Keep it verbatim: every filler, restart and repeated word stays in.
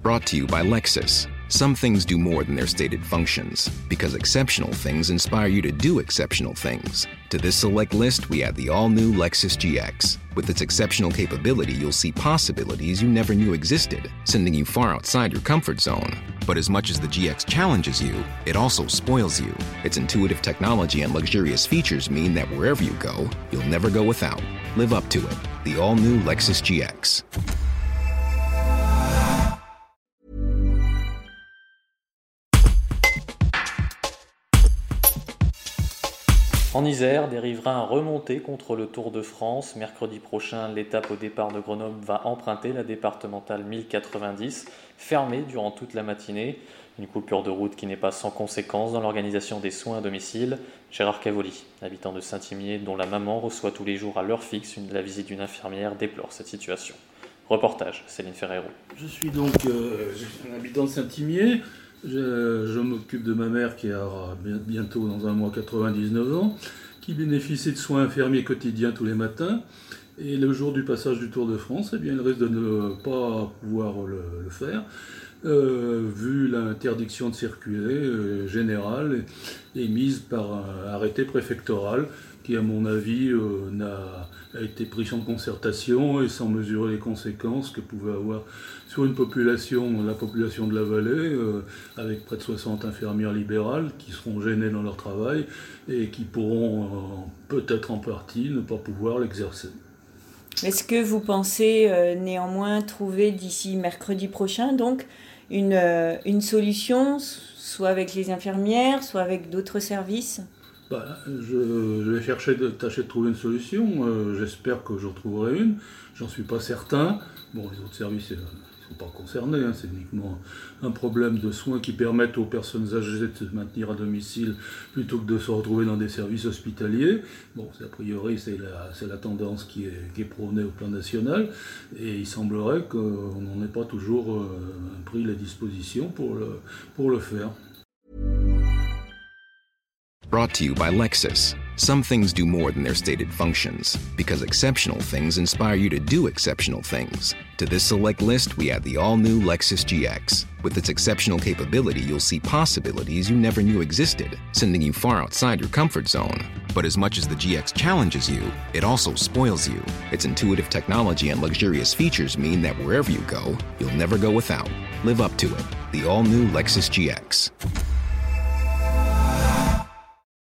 Brought to you by Lexus. Some things do more than their stated functions, because exceptional things inspire you to do exceptional things. To this select list, we add the all-new Lexus G X. With its exceptional capability, you'll see possibilities you never knew existed, sending you far outside your comfort zone. But as much as the G X challenges you, it also spoils you. Its intuitive technology and luxurious features mean that wherever you go, you'll never go without. Live up to it. The all-new Lexus G X. En Isère, des riverains remontés contre le Tour de France. Mercredi prochain, l'étape au départ de Grenoble va emprunter la départementale mille quatre-vingt-dix, fermée durant toute la matinée. Une coupure de route qui n'est pas sans conséquence dans l'organisation des soins à domicile. Gérard Cavoli, habitant de Saint-Imier, dont la maman reçoit tous les jours à l'heure fixe une, la visite d'une infirmière, déplore cette situation. Reportage, Céline Ferrero. Je suis donc euh, un habitant de Saint-Imier. Je, je m'occupe de ma mère qui a bientôt dans un mois quatre-vingt-dix-neuf ans, qui bénéficie de soins infirmiers quotidiens tous les matins. Et le jour du passage du Tour de France, eh bien, elle risque de ne pas pouvoir le, le faire, euh, vu l'interdiction de circuler euh, générale émise par un arrêté préfectoral qui, à mon avis, euh, n'a, a été pris sans concertation et sans mesurer les conséquences que pouvait avoir sur une population, la population de la vallée, euh, avec près de soixante infirmières libérales qui seront gênées dans leur travail et qui pourront, euh, peut-être en partie, ne pas pouvoir l'exercer. Est-ce que vous pensez euh, néanmoins trouver d'ici mercredi prochain donc une, euh, une solution, soit avec les infirmières, soit avec d'autres services ? Bah, je, je vais chercher de tâcher de trouver une solution. Euh, j'espère que je retrouverai une. J'en suis pas certain. Bon, les autres services ne sont pas concernés. Hein. C'est uniquement un problème de soins qui permettent aux personnes âgées de se maintenir à domicile plutôt que de se retrouver dans des services hospitaliers. Bon, a priori, c'est la, c'est la tendance qui est, qui est prônée au plan national. Et il semblerait qu'on n'en ait pas toujours euh, pris les dispositions pour le, pour le faire. Brought to you by Lexus. Some things do more than their stated functions, because exceptional things inspire you to do exceptional things. To this select list, we add the all-new Lexus G X. With its exceptional capability, you'll see possibilities you never knew existed, sending you far outside your comfort zone. But as much as the G X challenges you, it also spoils you. Its intuitive technology and luxurious features mean that wherever you go, you'll never go without. Live up to it. The all-new Lexus G X.